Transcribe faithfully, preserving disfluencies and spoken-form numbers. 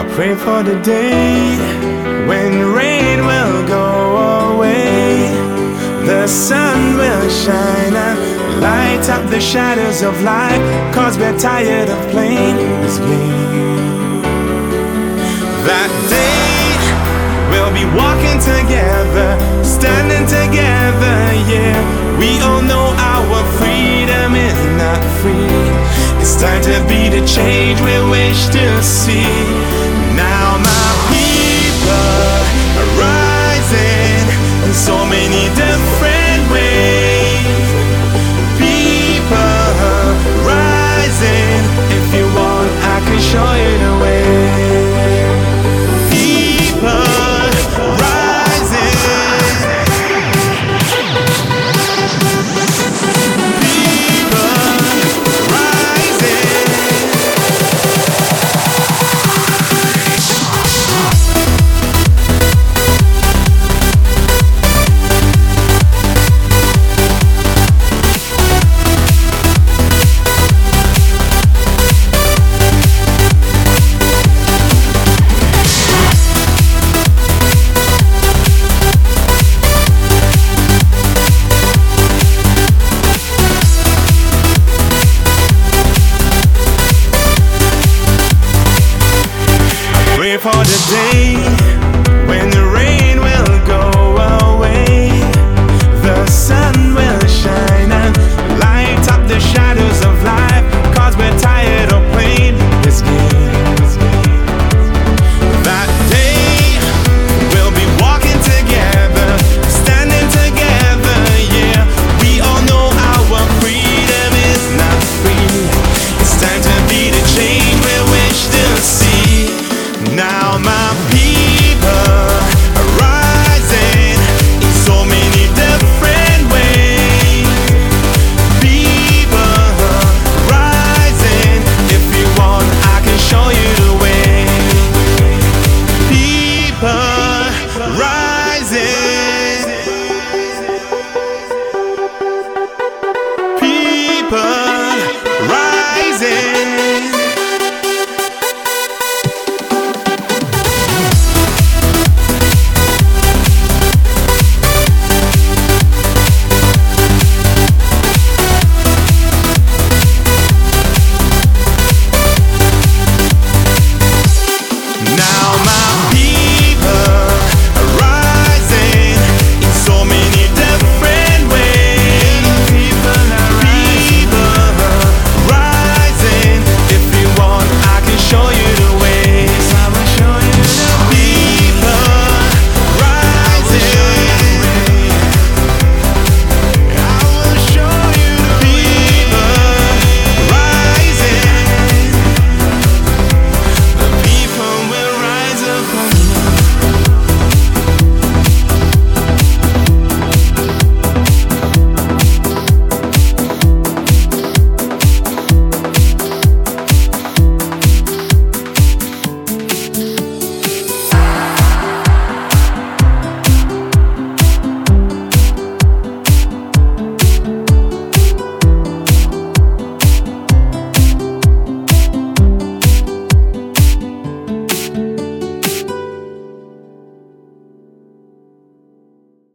Pray for the day when rain will go away, the sun will shine and light up the shadows of life, 'cause we're tired of playing this game. That day we'll be walking together, standing together, yeah. We all know our freedom is not free. It's time to be the change we wish to see. Now my people are rising in so many different ways. People are rising. If you want, I can show you the way. For the day